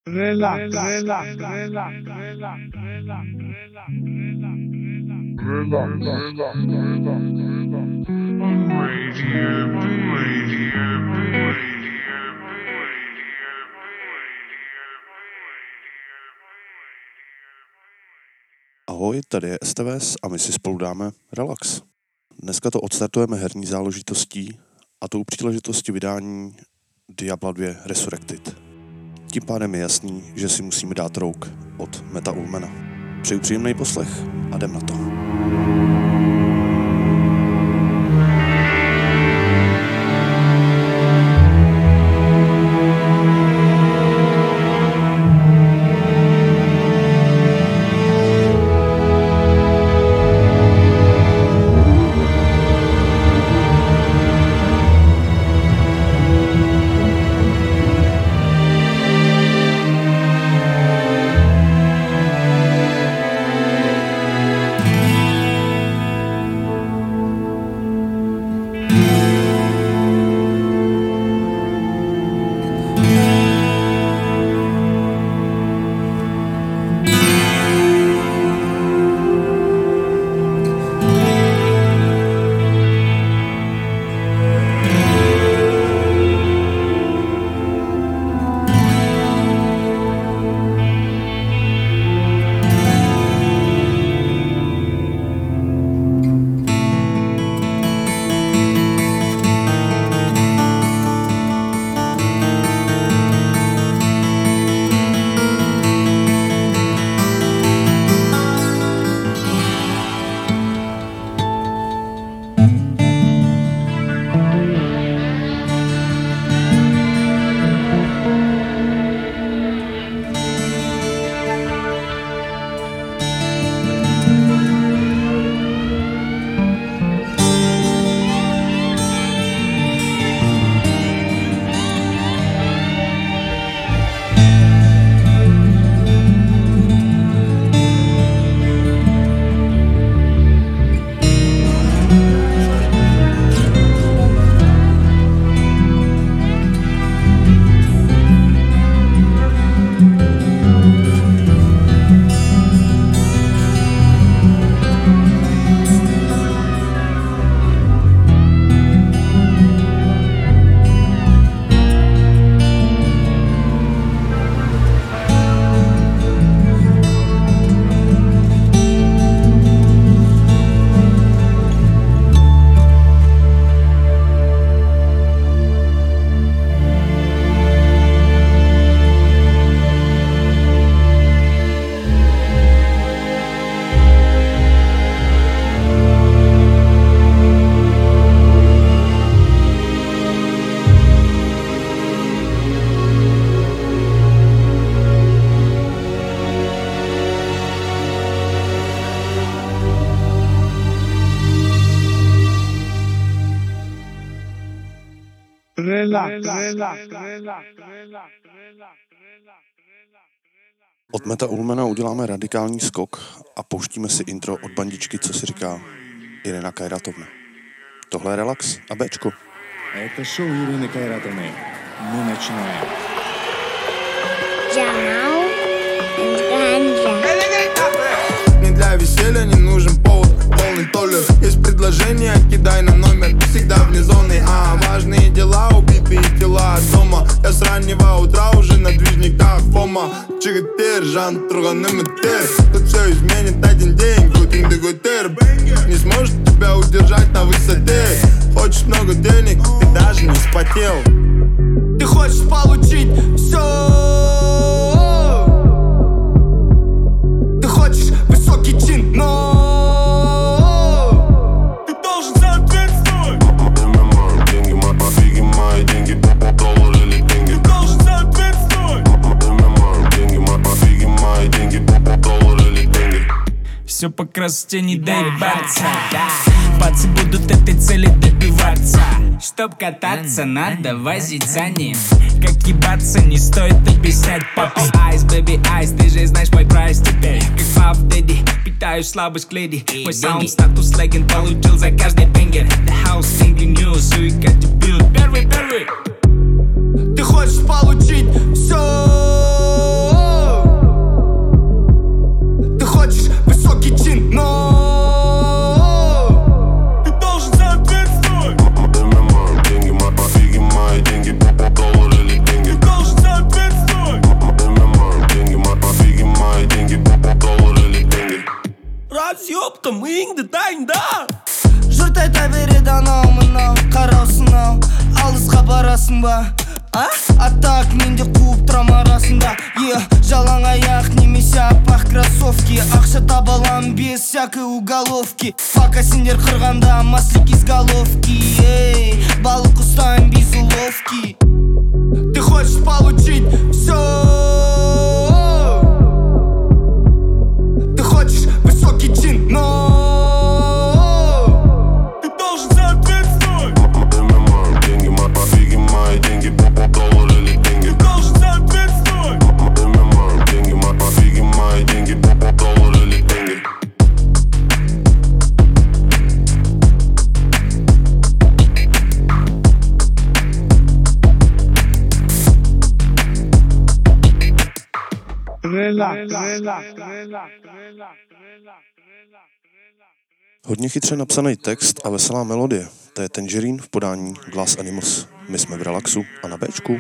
Relax. Ahoj, tady je STVS a my si spolu dáme relax. Dneska to odstartujeme herní záležitostí a tou příležitostí vydání Diabla 2 Resurrected. Tím pádem je jasný, že si musíme dát rouk od Meta Ullmana. Přeju příjemný poslech a jdem na to. Od Meta Ullmana uděláme radikální skok a pouštíme si intro od bandičky, co si říká Irina Kajratovna. Tohle je relax a Bčko. Это шоу Ирины Кайратовны. Мы начинаем. Не для веселья не нужен повод, полный толер. Есть предложение, кидай на номер. Всегда вне зоны, важные дела, убитые тела дома. Я с раннего утра уже на движниках Фома. Чигатер, Жан, Турганым и Тер. Тут все изменит один день, Гутин де Гутер. Не сможет тебя удержать на высоте. Хочешь много денег, ты даже не вспотел. Ты хочешь получить все. Ты хочешь высокий чин, но ты должен соответствовать. Деньги мои, деньги, доллар или деньги. Ты должен соответствовать. Деньги мои, деньги, доллар или деньги. Все по красоте, не дай ебаться. Пацы будут этой цели добиваться. Чтоб кататься, надо возить за ним. Как ебаться, не стоит объяснять папе. Айс, бэби, айс, ты же знаешь мой прайс теперь. Как Пав Дэдди, питаю слабость к леди. Мой саунд, статус, легенд получил за каждый бенгер. The house, single news, you got to build. Первый. Ты хочешь получить все. миыңды дайында. Жұрт айта береді анау мынау, қараусың ау, алысқа барасың ба? А так менде қуып тұрам арасында. Жалаң аяқ немесе аппақ кроссовки, ақша таба алам без всякой уголовки. Пока сендер қырғанда маслик из головки, балық ұстайын без уловки. Ты хочешь получить все, ты хочешь высокий чин, но Ты должен соответствовать. Деньги, мои деньги, доллар или деньги. Ты должен соответствовать. Деньги, мои деньги, доллар или деньги. Hodně chytře napsaný text a veselá melodie. To je Tangerine v podání Glass Animals. My jsme v Relaxu a na Bčku.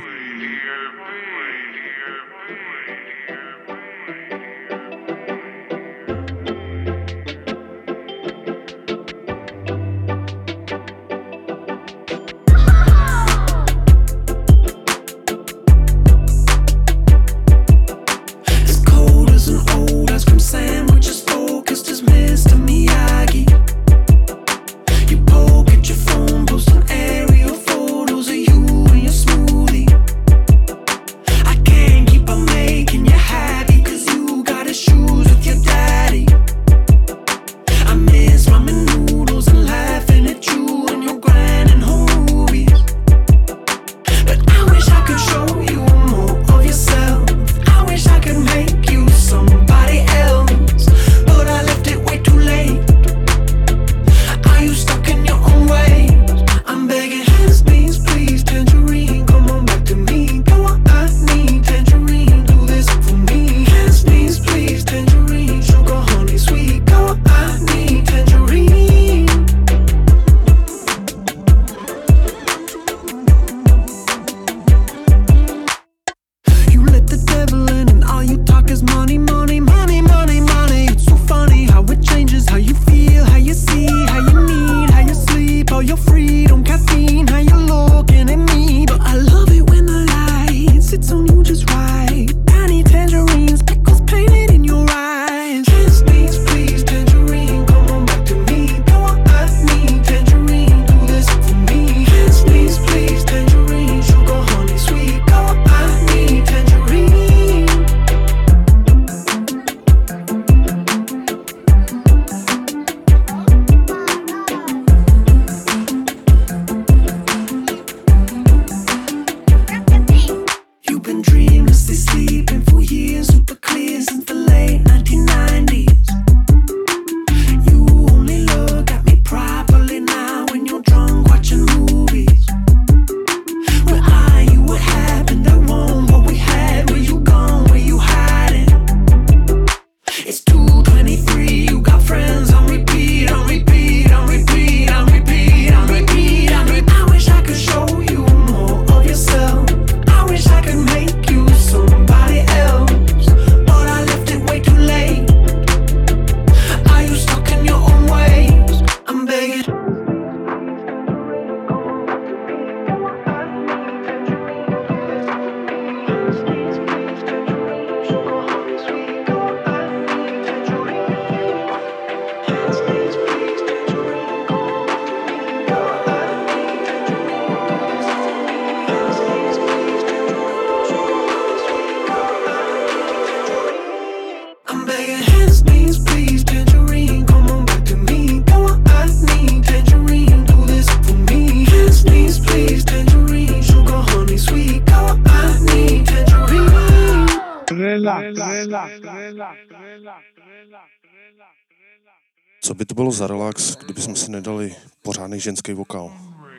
Co by to bylo za relax, kdybychom si nedali pořádný ženský vokál?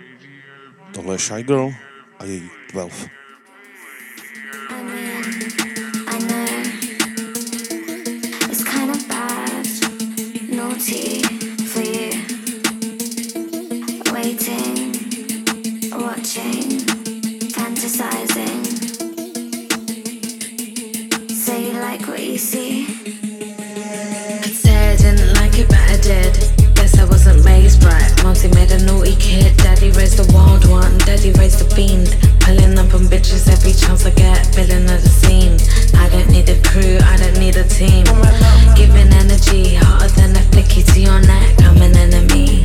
Tohle je Shy Girl a její 12. I said I didn't like it, but I did. Mumsy made a naughty kid, daddy raised the wild one, daddy raised the fiend. Pulling up on bitches every chance I get, filling of the scene. I don't need a crew, I don't need a team. Giving energy, hotter than a flicky to your neck, I'm an enemy.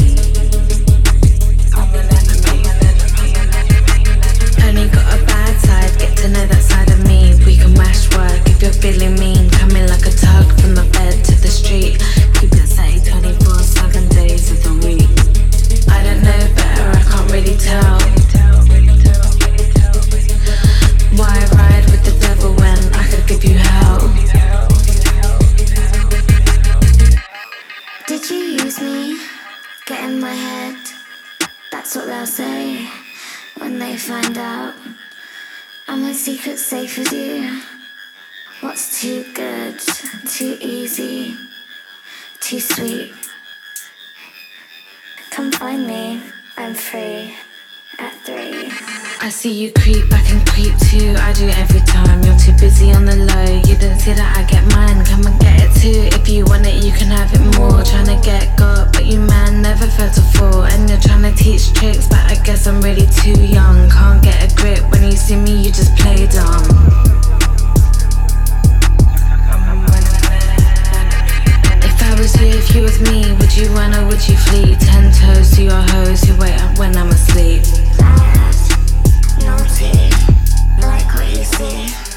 Only got a bad side, get to know that side of me. We can mash work if you're feeling mean. Coming like a tug from the bed to the street. Keep it safe 24/7 days of the week. I don't know better, I can't really tell. Why ride with the devil when I could give you hell? Did you use me? Get in my head. That's what they'll say when they find out I'm a secret safe with you. What's too good, too easy, too sweet? Come find me, I'm free at 3. I see you creep, I can creep too. I do every time. You're too busy on the low. You didn't see that I get mine. Come and get it too. If you want it, you can have it more. Trying to get got, but you man never felt a fall. And you're trying to teach tricks, but I guess I'm really too young. Can't get a grip. When you see me, you just play dumb. If I was you, if you was me, would you run or would you flee? 10 toes to your hoes who wait up when I'm asleep. Naughty, like what you see.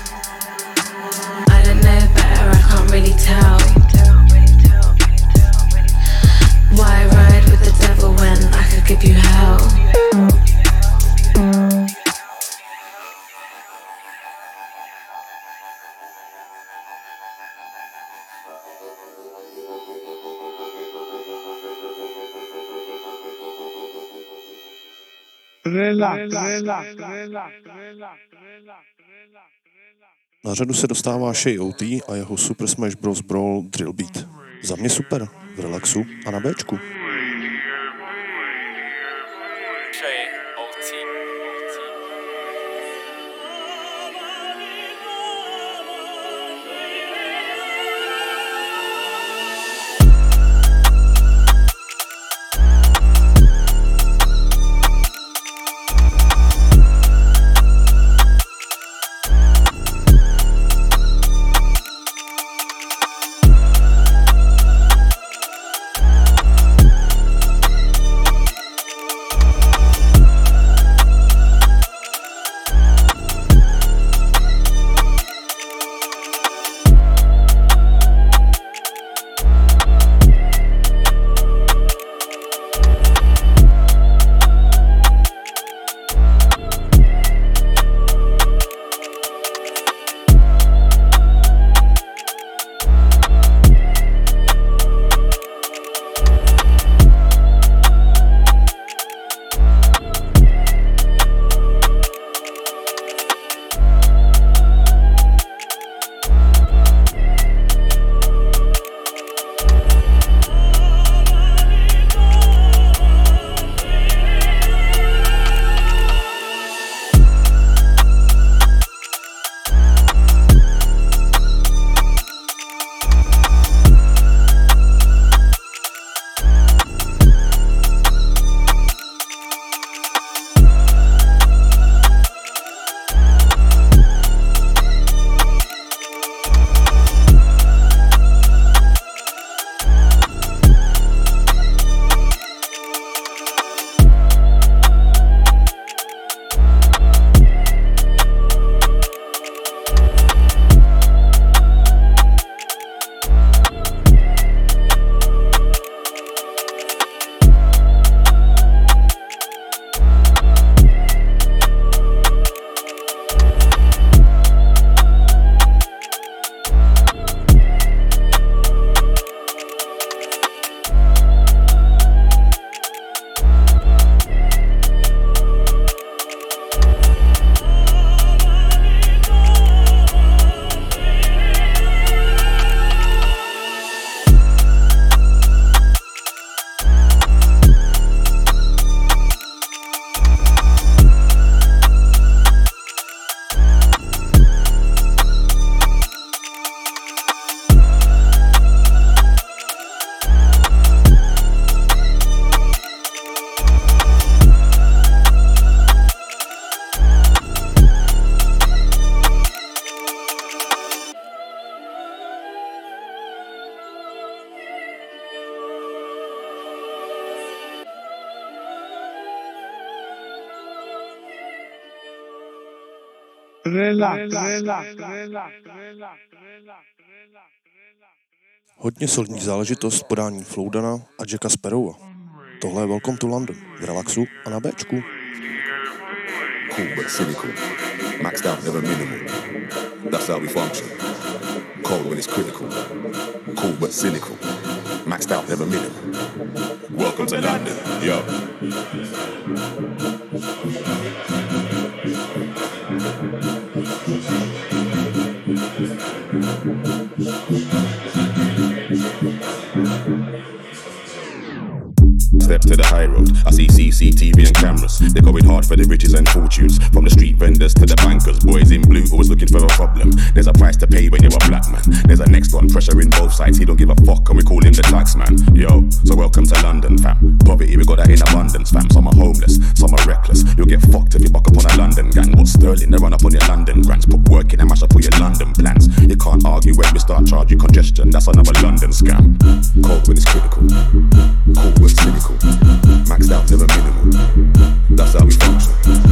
I don't know better, I can't really tell. Why ride with the devil when I could give you hell? Na řadu se dostává Shay OT a jeho Super Smash Bros. Brawl Drill Beat. Za mě super, v relaxu a na Bčku. Hodně solidní záležitost podání Flowdana a Jacka Sparrowa. Tohle je Welcome to London v Relaxu a na Bčku. Cool but cynical, maxed out never minimal. That's how we function. Cold when it's critical. Cool but cynical, maxed out never minimal. Welcome to London, yo. Step to the high road, I see CCTV and cameras. They're going hard for the riches and fortunes. From the street vendors to the bankers. Boys in blue always looking for a problem. There's a price to pay when you're a black man. There's a next one, pressuring both sides. He don't give a fuck and we call him the tax man. Yo, so welcome to London, fam. Poverty, we got that in abundance, fam. Some are homeless, some are reckless. You'll get fucked if you buck up on a London gang. What's sterling? They run up on your London grants. Put work in and mash up all your London plans. You can't argue when we start charge you congestion. That's another London scam. Cold when it's critical. Cool but cynical. Maxed out, never minimal. That's how we function.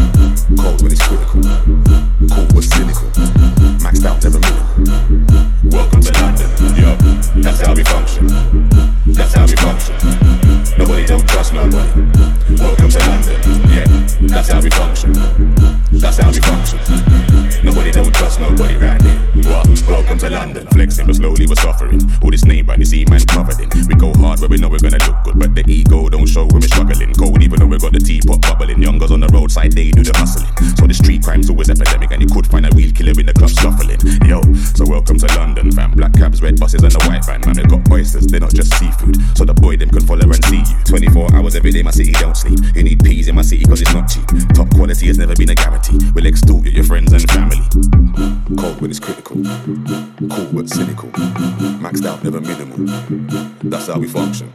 Cold when it's critical. Cool but cynical. Maxed out, never minimal. Welcome to London, yo. That's how we function. That's how we function. Nobody don't trust nobody. Welcome to London, yeah. That's how we function. That's how we function. Nobody don't trust nobody right here. What? Welcome to London. Flexing but slowly we're suffering. All this name brand you see man covered in. We go hard where we know we're gonna look good, but the ego don't show when we're struggling. Cold even though we got the teapot bubbling. Youngers on the roadside, they do the hustling. So the street crime's always epidemic, and you could find a real killer in the club shuffling. Yo, so welcome to London, fam. Black cabs, red buses, and the white van. Man, they got oysters, they're not just seafood. So the boy them can follow and see you. 24 hours every day, my city don't sleep. You need peas in my city cause it's not cheap. Top quality has never been a guarantee. We'll extort your friends and family. Cold when it's critical. Cool but cynical. Maxed out, never minimal. That's how we function.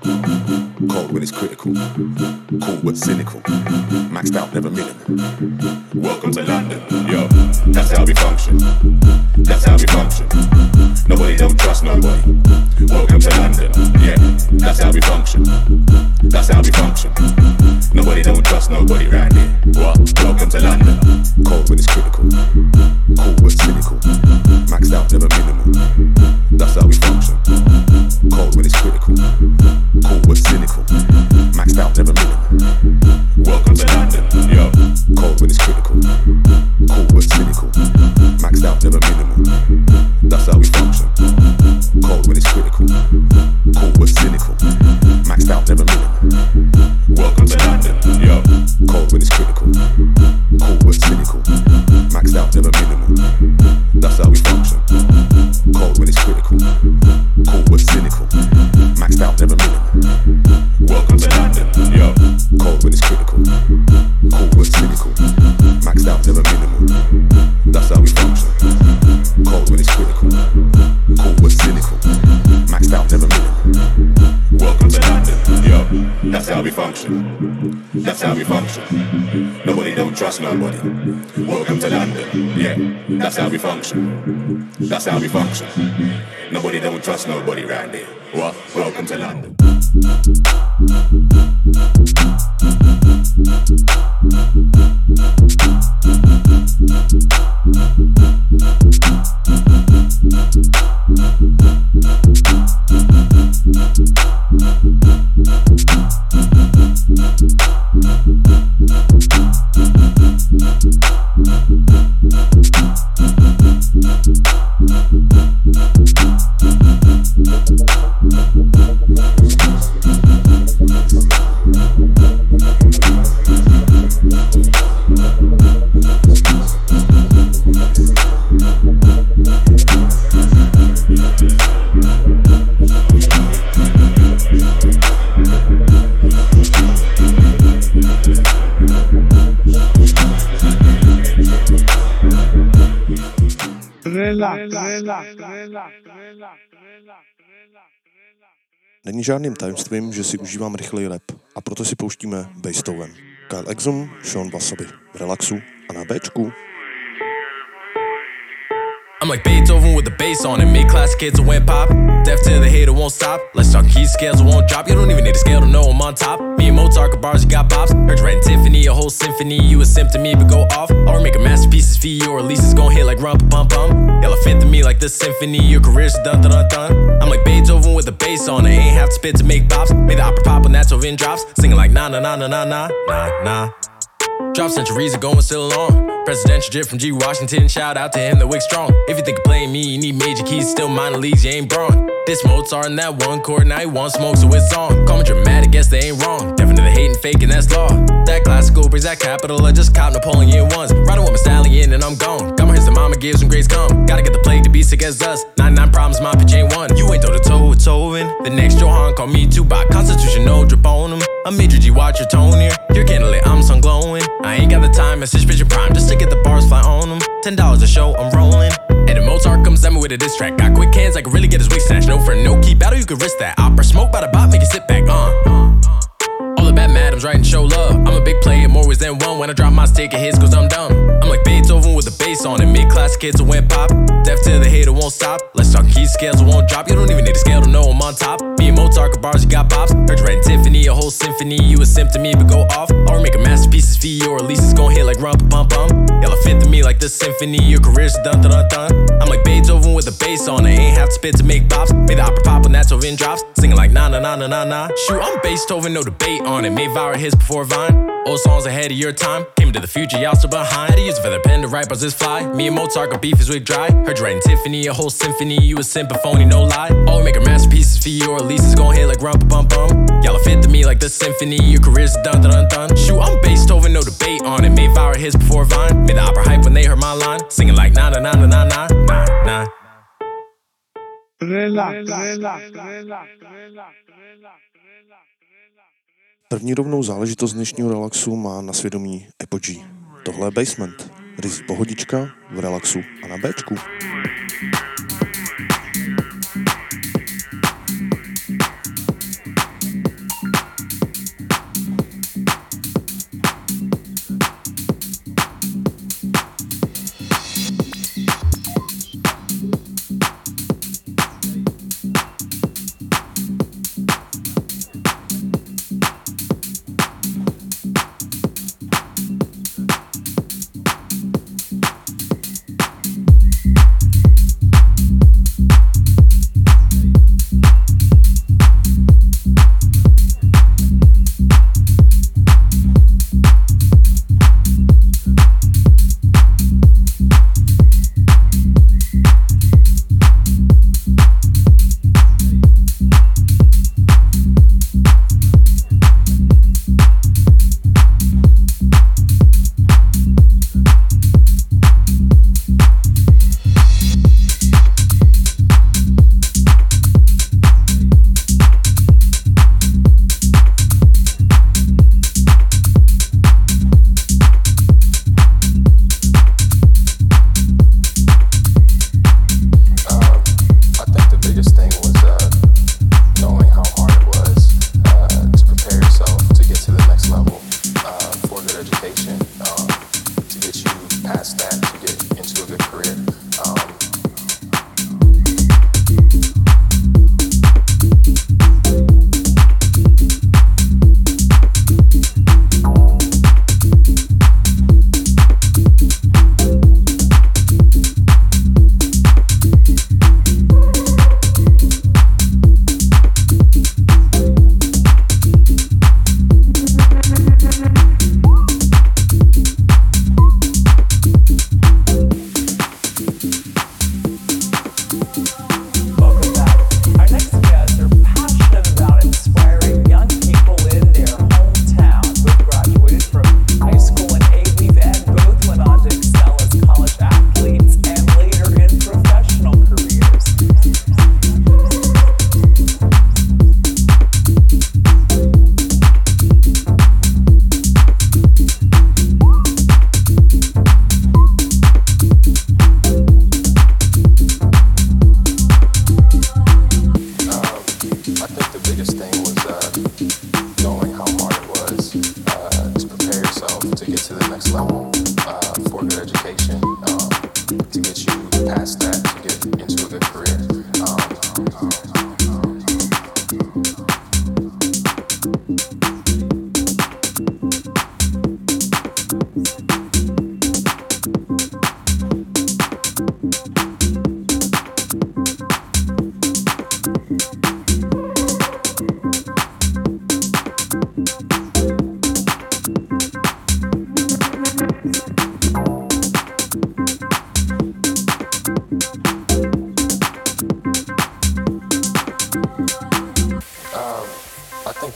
Cold when it's critical. Cool but cynical. Maxed out, never minimal. Welcome to London, yo. That's how we function. That's how we function. Nobody don't trust nobody. Welcome to London, yeah. That's how we function. That's how we function. Nobody don't trust nobody right here. What? Welcome to London. Cold when it's critical. Cool but cynical. Maxed out, never minimal. That's how we function. Cold when it's critical. Cool but cynical. Maxed out, never minimal. Welcome to London, yo. Cold when it's critical. Cool but cynical. Maxed out, never minimal. That's how we function. Cold when it's critical. Cool but cynical. Maxed out, never minimal. Welcome to London, yo. Cold when it's critical. Cool but cynical. Maxed out, never minimal. That's how we function. Cold when it's critical. Cool but cynical. Maxed out, never minimal. Welcome to London, yo. Cold when it's critical. Cool but cynical. Maxed out, never minimal. That's how we function. Cold when it's critical. Cool but cynical. Maxed out, never minimal. Welcome to London, yo. That's how we function. That's how we function. Nobody don't trust nobody. Welcome to London, yeah. That's how we function. That's how we function. Nobody don't trust nobody right there. What? Welcome to London. Není žádným tajemstvím, že si užívám rychlej rap a proto si pouštíme Beethoven. Kyle Exum, Sean Wasabi v Relaxu a na Bčku. I'm like Beethoven with the bass on it. Made classic hits that went pop. Deaf to the hater won't stop. Let's talk keys, scales won't drop. You don't even need a scale to know I'm on top. Me and Mozart got bars, you got bops. Heard you writing Tiffany, a whole symphony. You a simp to me, but go off. Or make a masterpieces for you, or release is gon' hit like rump pum pum. Elephant to me like the symphony. Your career's dun dun dun dun. I'm like Beethoven with the bass on it. Ain't have to spit to make bops. Made the opera pop when that's over in drops. Singing like na na na na na na na na. Drop centuries ago and still along. Presidential drip from G. Washington. Shout out to him, the wick strong. If you think of playing me, you need major keys. Still minor leagues, you ain't Braun. This Mozart in that one chord, now he want smoke, so it's on. Call me dramatic, guess they ain't wrong. Definitely hating, faking, that's law. That classical brings that capital. I just caught Napoleon once. Riding with my stallion and I'm gone. Got my hits that mama gives when grades come. Gotta get the plague to be sick as dust. 99 problems, my pitch ain't one. You ain't toe to toe with Tovin. The next Johan call me Tupac. Constitution, no drip on him. I'm Major G, watch your tone here. You're candlelit, I'm sun glowing. I ain't got the time, message bitch prime. Just to get the bars fly on them. $10 a show, I'm rolling. And if Mozart comes at me with a diss track, got quick hands, I can really get his wig snatched. No friend, no key battle, you can risk that. Opera smoke by the bot, make it sit back, All the bad madams writing show love. I'm a big player, more ways than one. When I drop my stick, it hits cause I'm dumb. I'm like Beethoven with the bass on it. Made classic hits that went pop. Deaf to the hater won't stop. Let's talk keys, scales won't drop. You don't even need a scale to know I'm on top. Me and Mozart got bars, you got bops. Heard you writing Tiffany, a whole symphony. You a simp to me, but go off. Or make a masterpieces for you, or release is gon' hit like rump pum pum. Elephant to me like the symphony. Your career's dun dun dun dun. I'm like Beethoven with the bass on it. Ain't have to spit to make bops. Made the opera pop when that's over in drops. Singing like na na na na na na. Shoot, I'm Beethoven, no debate on it. Made viral hits before Vine. Old songs ahead of your time. Came to the future, y'all still behind. Had to use a feather pen to write bars this fly. Me and Mozart got beef, his wig dry. Heard you writing Tiffany, a whole symphony. You a simp, a phony, no lie. Oh, make her masterpieces for you, or release is gon' hit like rump bum bum. Y'all are fit to me like the symphony. Your career's dun dun dun dun. Shoot, I'm Beethoven, no debate on it. Made viral hits before Vine. Made the opera hype when they heard my line. Singing like na na na na na na na na. První rovnou záležitost dnešního relaxu má na svědomí Apogee. Tohle je Basement. Ryzí pohodička v relaxu a na Bčku.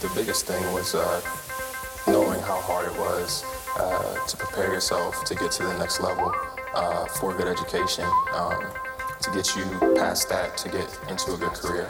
the biggest thing was knowing how hard it was to prepare yourself to get to the next level for a good education, to get you past that, to get into a good career.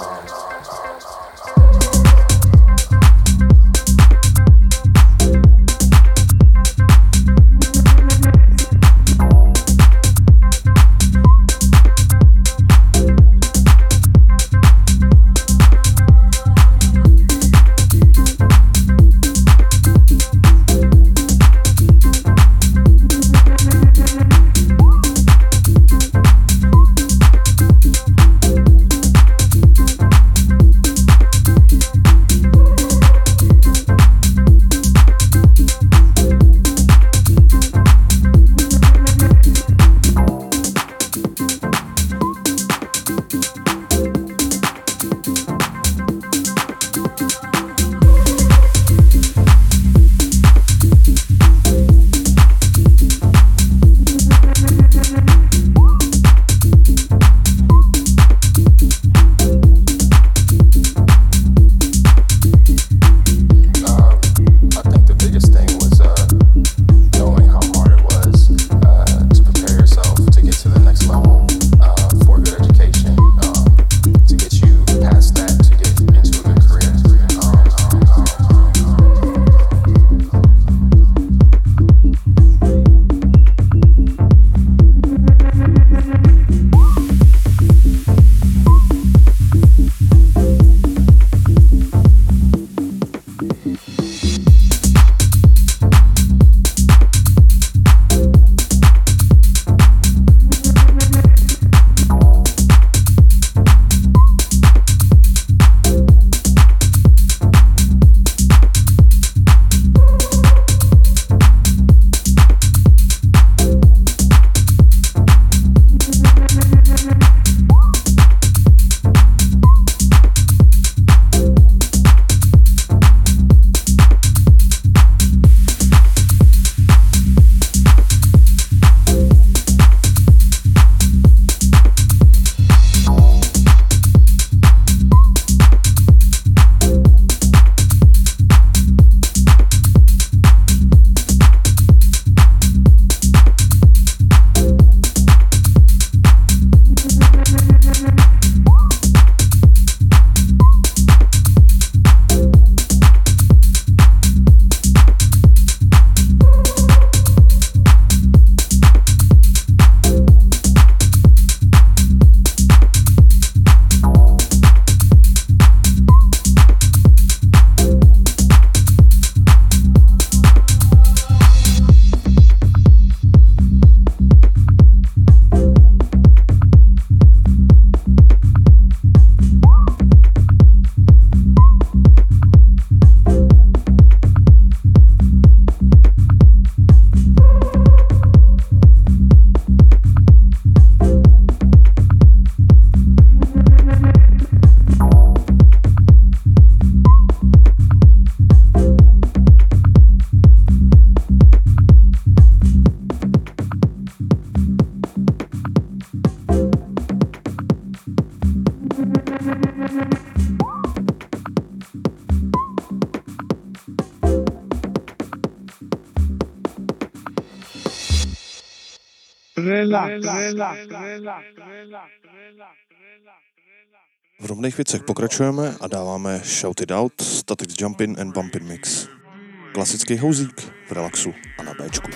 V rovných věcech pokračujeme a dáváme Shout It Out, Static Jumpin' and Bumpin' Mix. Klasický houzík v relaxu a na Bčku.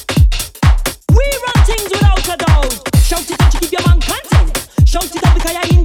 Shout it out because I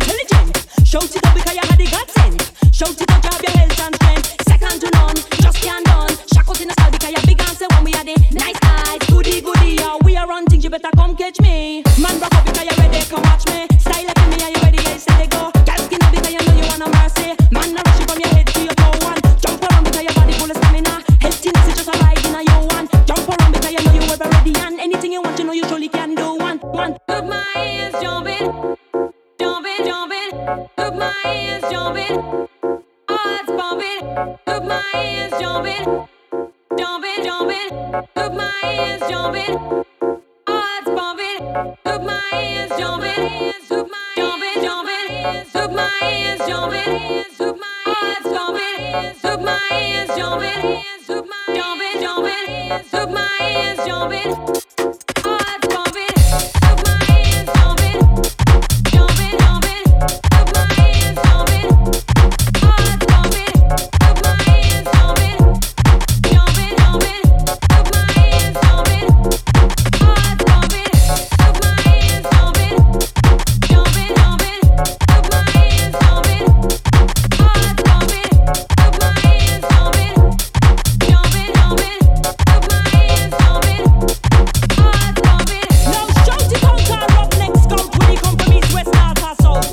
my hands jumping, jumping, jumping. Look, my hands jumping, heart's bumping. Look, my hands jumping, look, my jumping, jumping. Look, my hands jumping, look, my heart's bumping. Look, my hands jumping, look, my jumping, jumping. Look, my hands jumping, heart's bumping. Look, my hands jumping, jumping, jumping. Look, my hands jumping, heart's bumping. Look, my hands jumping, jumping, jumping. Look, my hands jumping, heart's bumping. Look, my hands jumping, jumping, jumping. Look, my hands jumping, heart's bumping. Look, my hands jumping, jumping, jumping. Look, my hands jumping, heart's bumping. Now shout it out and rock next count when he come from east, west, north or south.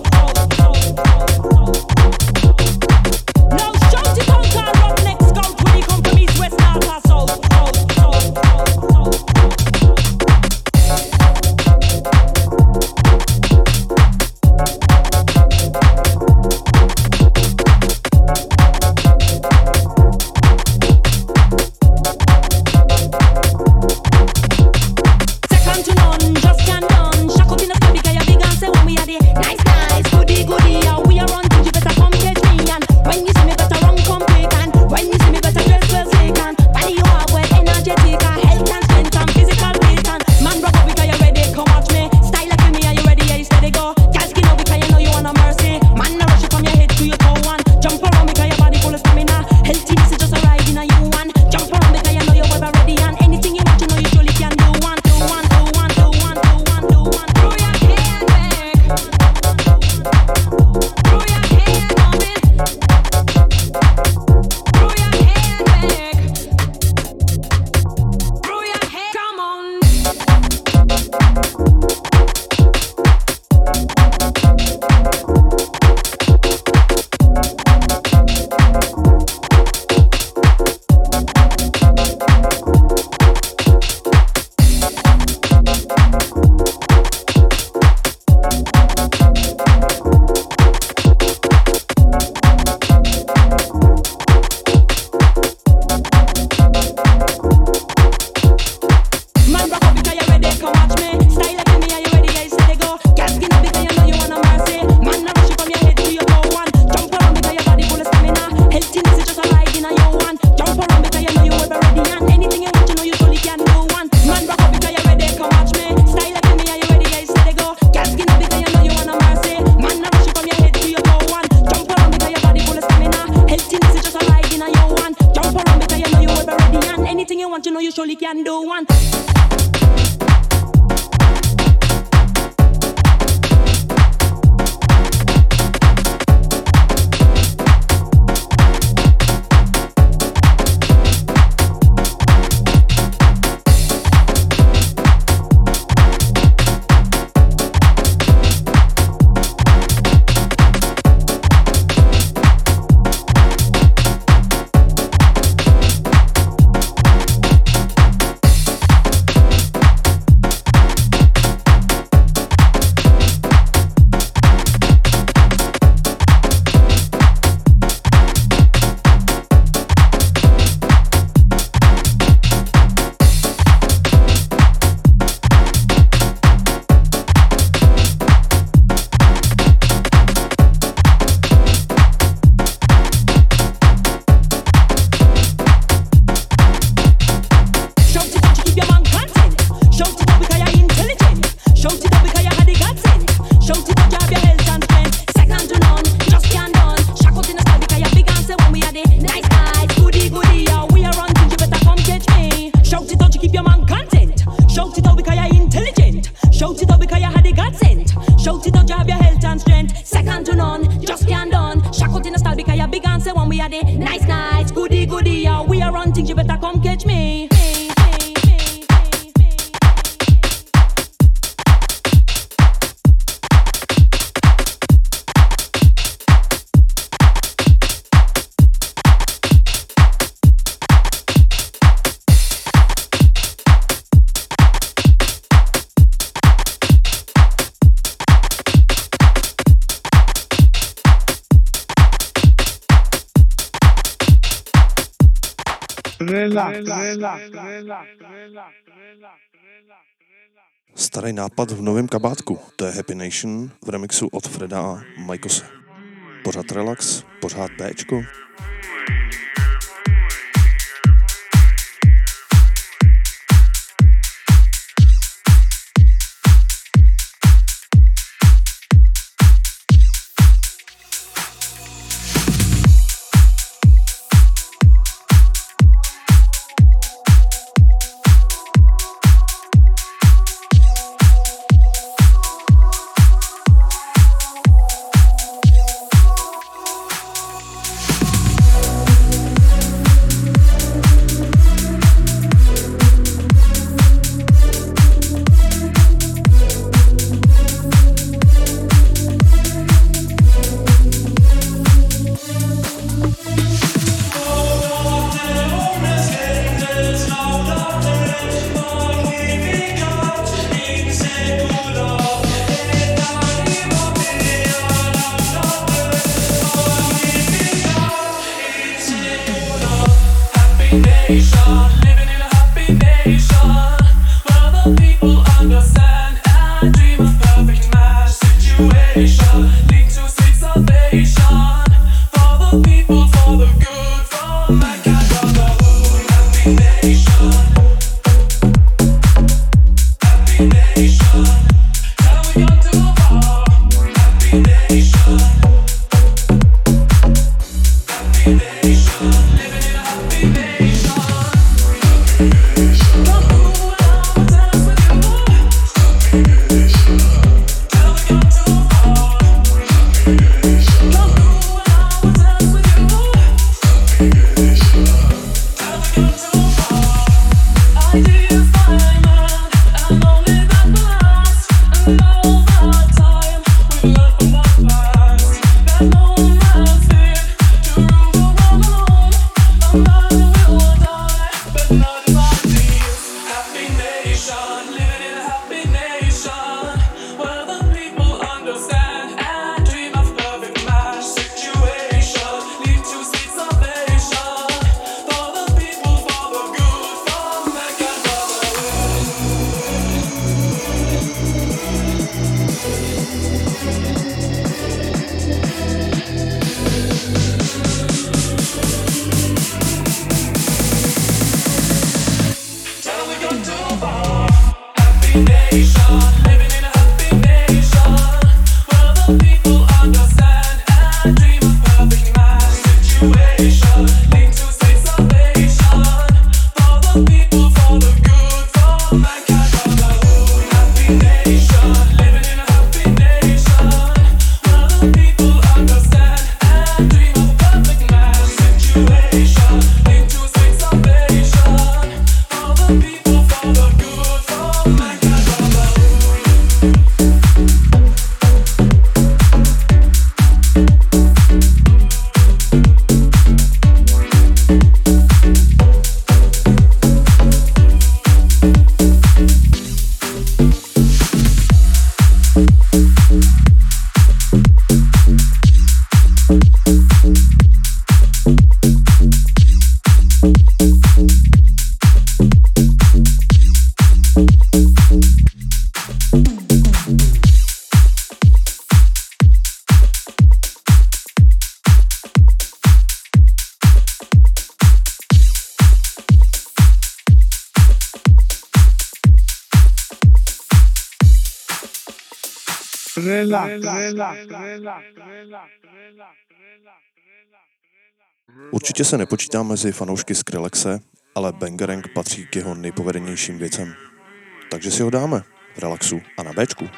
Now shout it out and rock next count when he come from east, west, north or south. Second to none, just can't done. Shack up in the sky because you big and say when we are the nice, nice, goody, goody. How we are running, you better come catch me. And when you see me, better run, come quick. And when you see me, better dress well slick. And body you have well energetic. And health and strength and physical fit. And man rock up because you ready, come watch me. Style like me, are you ready? Yeah, you steady go. Girl skin up because you know you want a mercy. Man no rush you from your head to your toe. And jump around because your body full of stamina. Healthiness is just a ride in a you one. Jump around because you know you're ever ready. And anything you want, you know you surely can do one. Throw your hands back. Throw your hands on it. Throw your hands back. Throw your hands. Come on. Man rock up because you ready, come watch me. Style like me, are you ready? Yeah, you steady go. Girl skin up because you know you want a mercy. Man no rush you from your head to your toe. One jump around because your body full of stamina. Healthiness is just a ride in a you one. Jump around because you know you ever ready. And anything you want, you know you surely can do one. Man rock up because you ready, come watch me. Style like me, are you ready? Yeah, you steady go. Girl skin up because you know you want a mercy. Man no rush you from your head to your toe. One jump around because your body full of stamina. Healthiness is just a ride in a you one. Jump around because you know you ever ready. And anything you want, you know you surely can do one. Starý nápad v novém kabátku, to je Happy Nation v remixu od Freda a Majkose. Pořád relax, pořád Bčko. Určitě se nepočítá mezi fanoušky Skrillexe, ale Bangarang patří k jeho nejpovedenějším věcem. Takže si ho dáme v relaxu a na Bčku.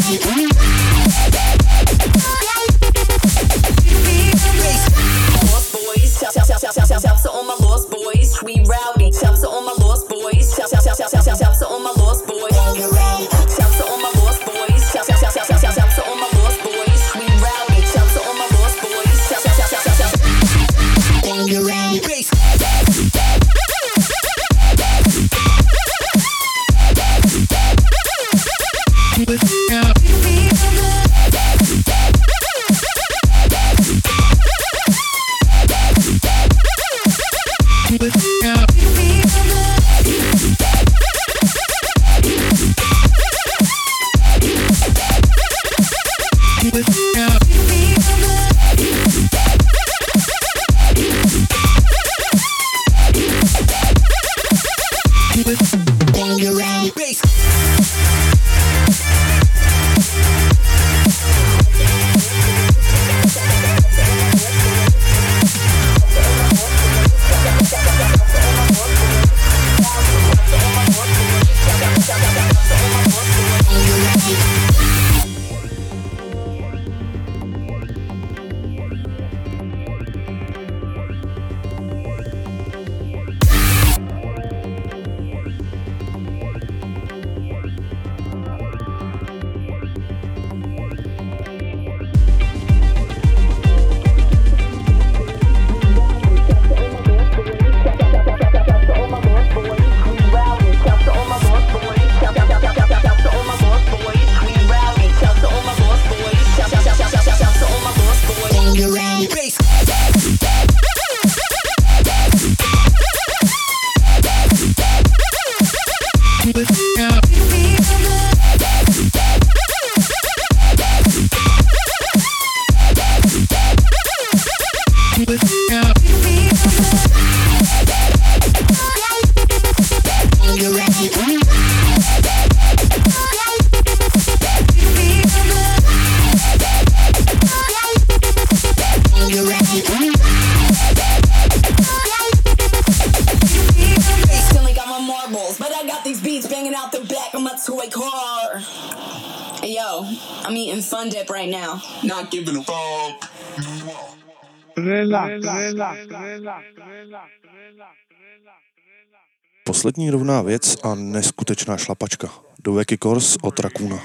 Not giving a fuck. Poslední rovná věc a neskutečná šlapačka. Do Wacky Course od Rakuna.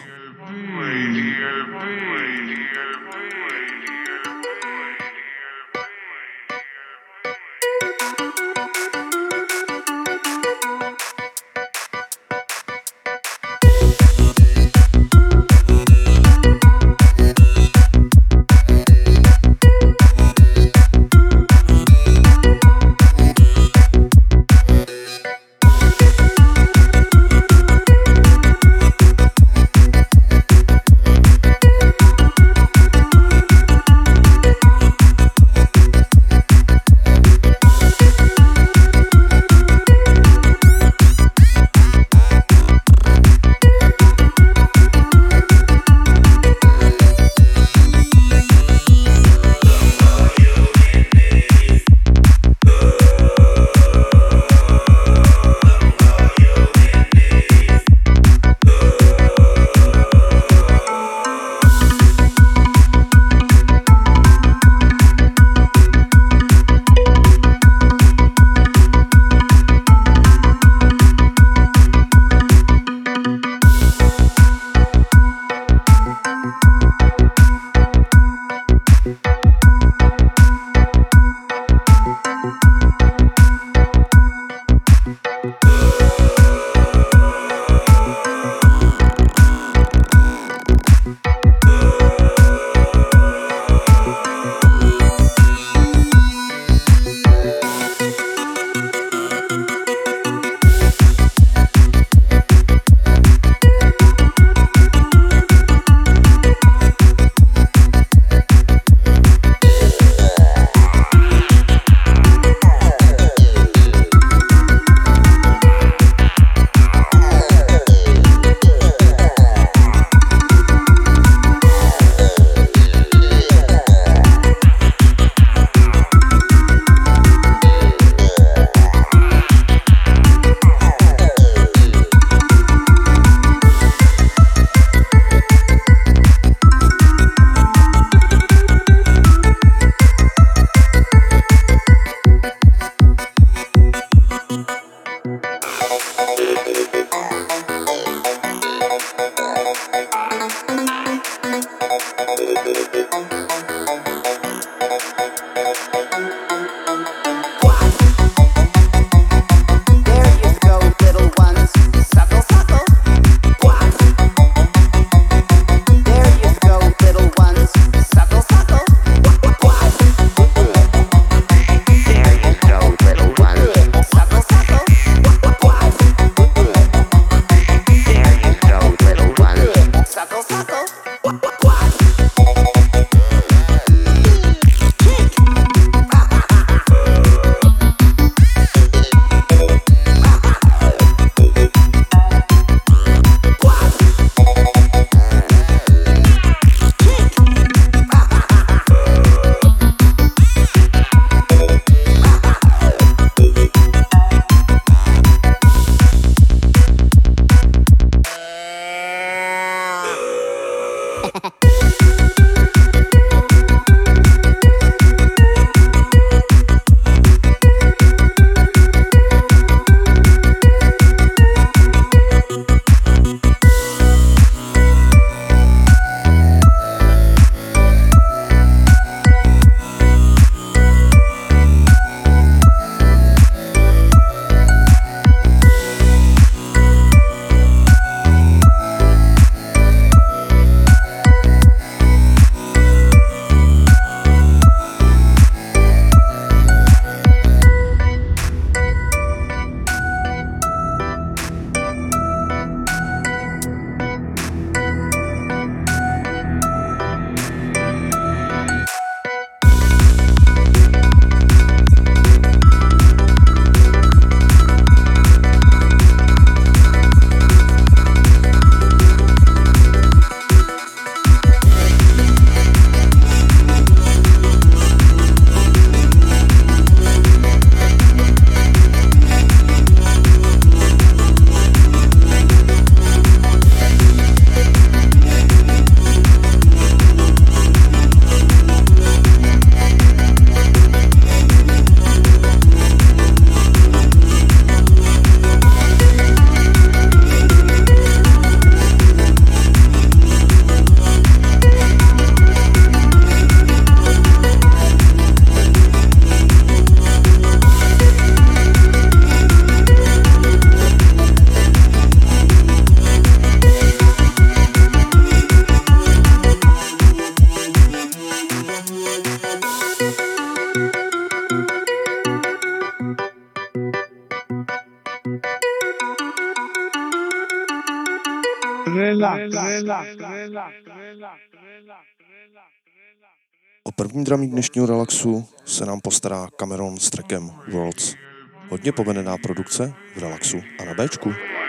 O první dramík dnešního relaxu se nám postará Cameron s trackem Worlds. Hodně povedená produkce v relaxu a na Bčku.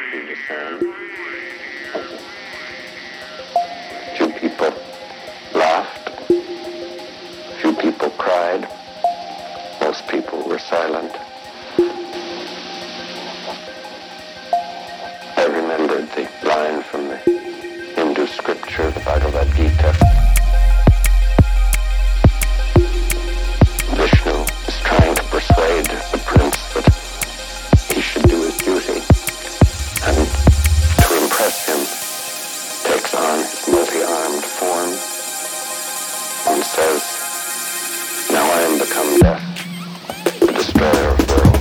Scripture, the Bhagavad Gita. Vishnu is trying to persuade the prince that he should do his duty, and to impress him, takes on his multi-armed form and says, "Now I am become death, the destroyer of worlds."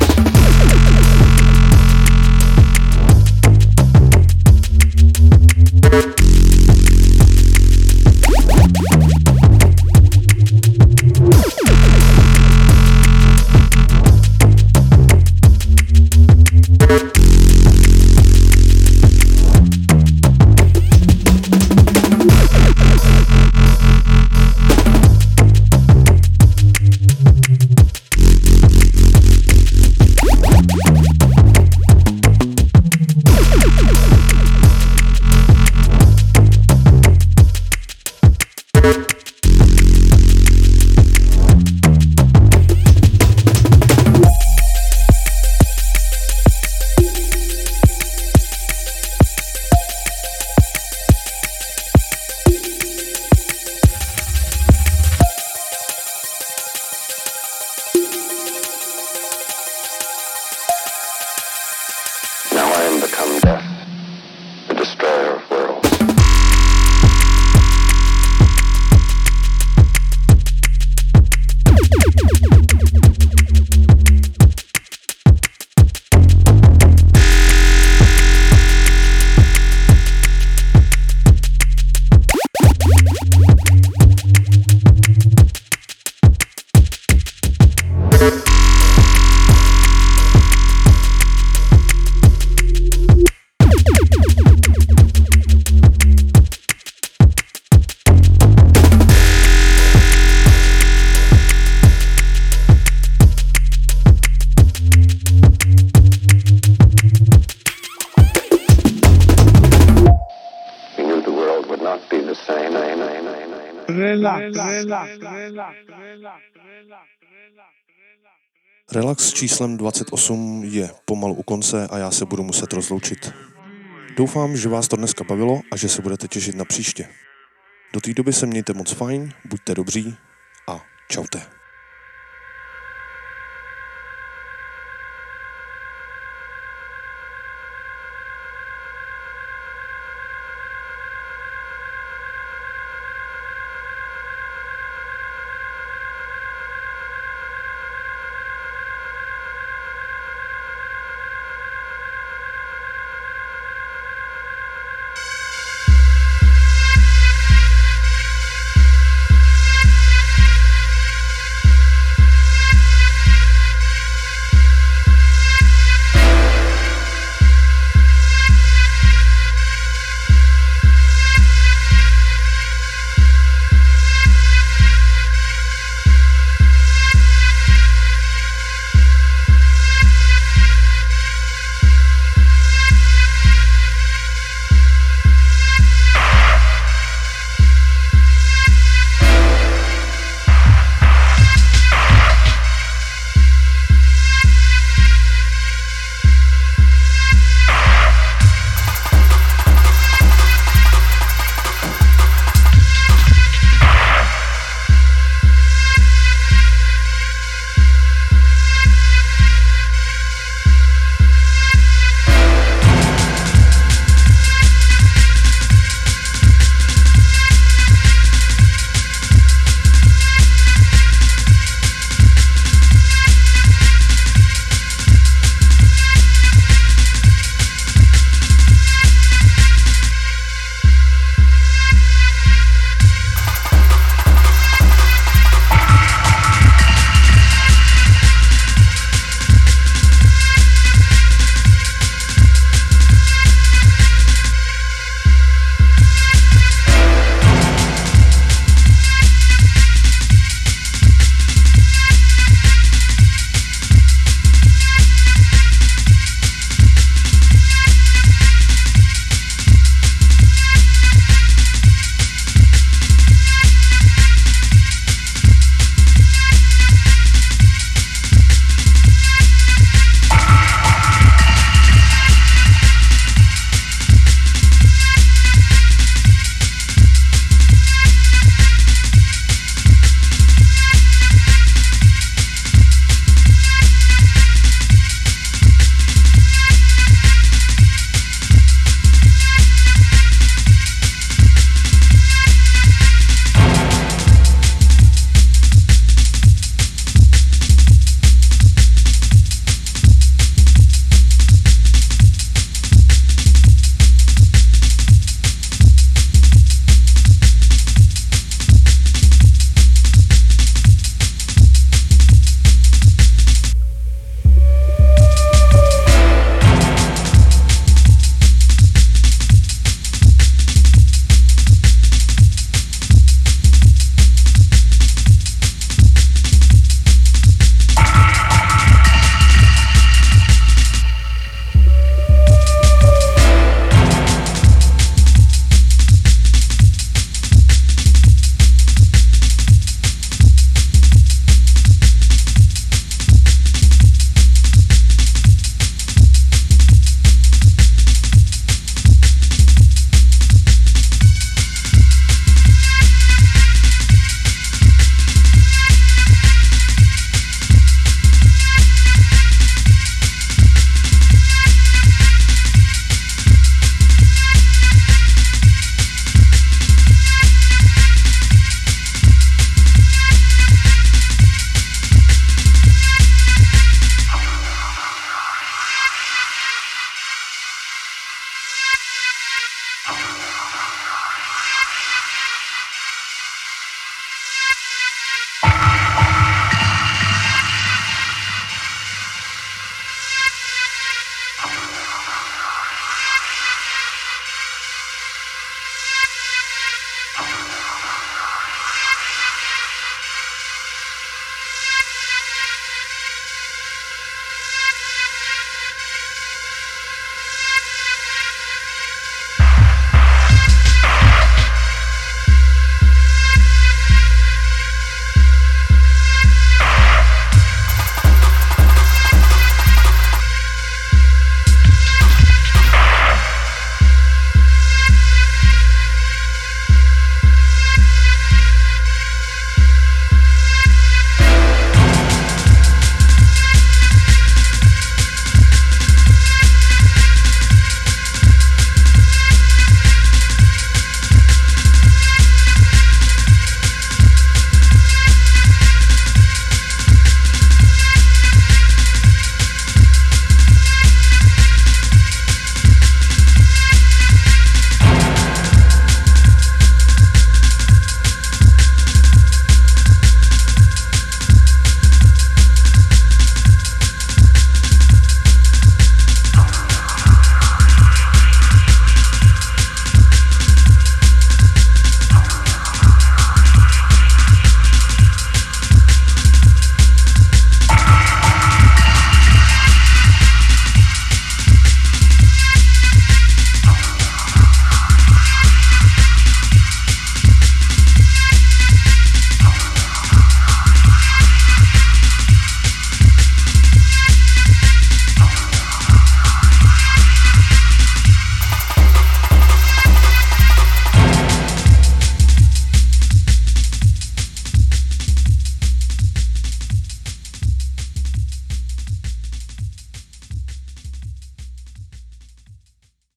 Relax s číslem 28 je pomalu u konce a já se budu muset rozloučit. Doufám, že vás to dneska bavilo a že se budete těšit na příště. Do té doby se mějte moc fajn, buďte dobří a čaute.